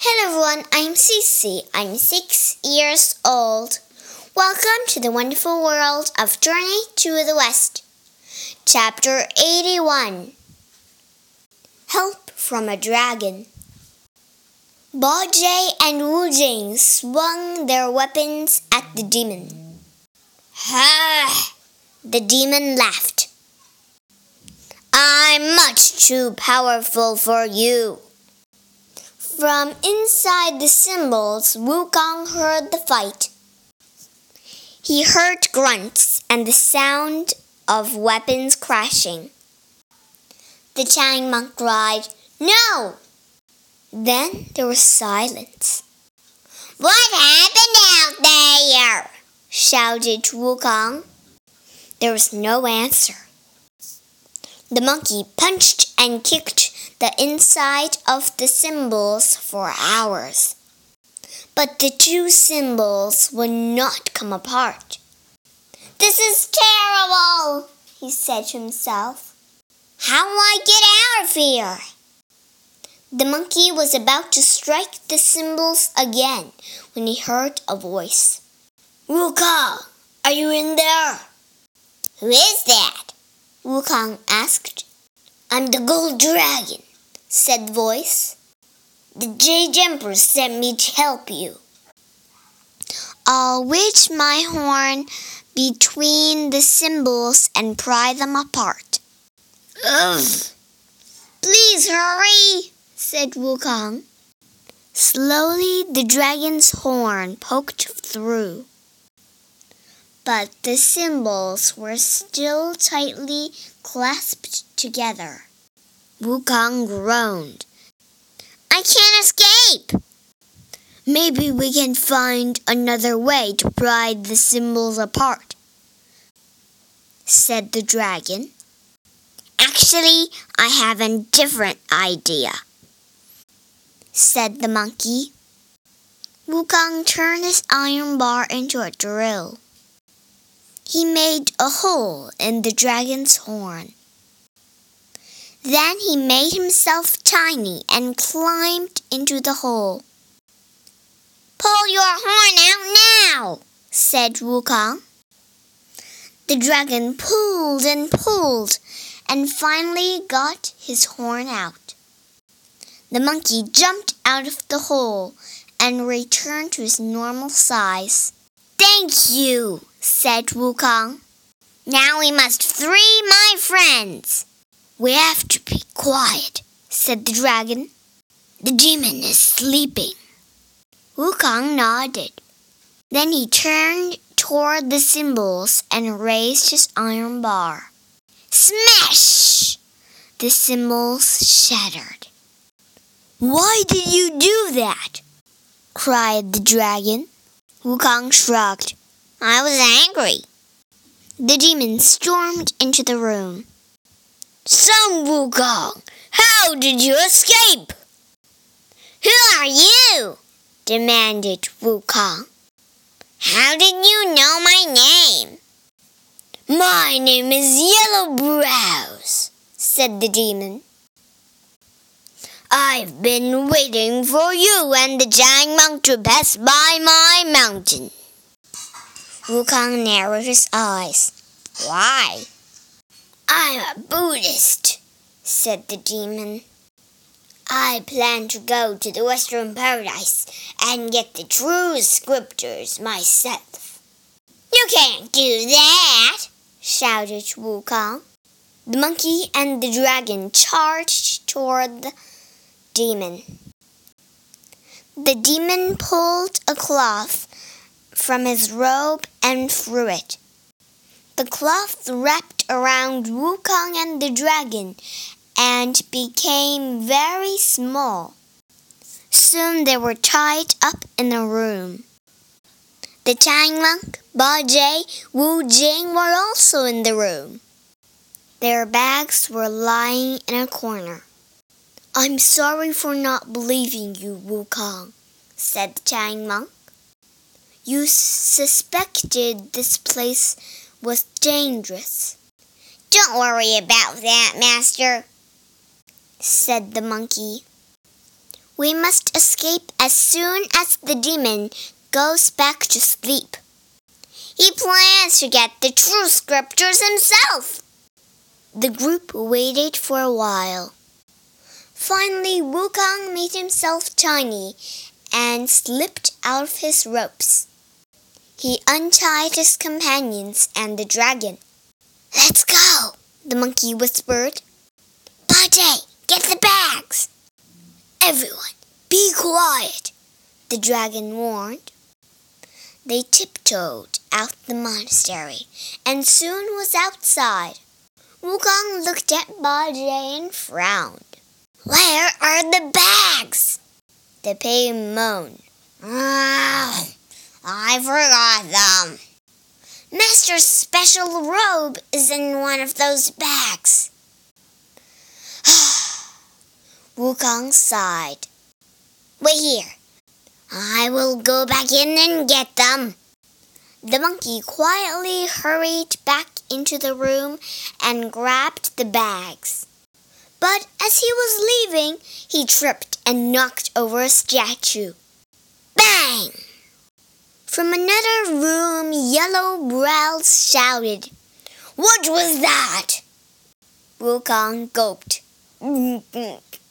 Hello everyone, I'm Cece. I'm 6 years old. Welcome to the wonderful world of Journey to the West. Chapter 81. Help from a Dragon. Bajie and Wu Jing swung their weapons at the demon. Ha! The demon laughed. I'm much too powerful for you. From inside the cymbals, Wukong heard the fight. He heard grunts and the sound of weapons crashing. The Tang monk cried, "No!" Then there was silence. "What happened out there?" shouted Wukong. There was no answer. The monkey punched and kicked the inside of the cymbals for hours. But the two cymbals would not come apart. "This is terrible," he said to himself. "How will I get out of here?" The monkey was about to strike the cymbals again when he heard a voice. "Wukong, are you in there?" "Who is that?" Wukong asked. "I'm the Gold Dragon," said the voice. "The Jade Emperor sent me to help you. I'll wedge my horn between the cymbals and pry them apart." "Ugh! Please hurry," said Wukong. Slowly the dragon's horn poked through. But the cymbals were still tightly clasped together. Wukong groaned. "I can't escape." "Maybe we can find another way to pry the cymbals apart," said the dragon. "Actually, I have a different idea," said the monkey. Wukong turned his iron bar into a drill. He made a hole in the dragon's horn. Then he made himself tiny and climbed into the hole. "Pull your horn out now," said Wukong. The dragon pulled and finally got his horn out. The monkey jumped out of the hole and returned to his normal size. "Thank you," said Wukong. "Now we must free my friends." "We have to be quiet," said the dragon. "The demon is sleeping." Wukong nodded. Then he turned toward the cymbals and raised his iron bar. Smash! The cymbals shattered. "Why did you do that?" cried the dragon. Wukong shrugged. "I was angry." The demon stormed into the room. "Son Wukong, how did you escape?" "Who are you?" demanded Wukong. "How did you know my name?" "My name is Yellow Brows," said the demon. "I've been waiting for you and the Tang monk to pass by my mountain." Wukong narrowed his eyes. "Why?" "I'm a Buddhist," said the demon. "I plan to go to the Western Paradise and get the true scriptures myself." "You can't do that," shouted Wukong. The monkey and the dragon charged toward the demon. The demon pulled a cloth from his robe and threw it. The cloth wrapped around Wukong and the dragon and became very small. Soon they were tied up in a room. The Tang monk, Bajie, Wu Jing were also in the room. Their bags were lying in a corner. "I'm sorry for not believing you, Wukong," said the Tang monk. "You suspected this place was dangerous." "Don't worry about that, master," said the monkey. We must escape as soon as the demon goes back to sleep. He plans to get the true scriptures himself. The group waited for a while. Finally, Wukong made himself tiny and slipped out of his ropes. He untied his companions and the dragon. "Let's go," the monkey whispered. "Bajie, get the bags." "Everyone, be quiet," the dragon warned. They tiptoed out the monastery and soon was outside. Wukong looked at Bajie and frowned. "Where are the bags?" The pig moaned. "I forgot them. Master's special robe is in one of those bags." Wukong sighed. "Wait here. I will go back in and get them." The monkey quietly hurried back into the room and grabbed the bags. But as he was leaving, he tripped and knocked over a statue. Bang! From another room, Yellow Brows shouted, "What was that?" Wukong gulped.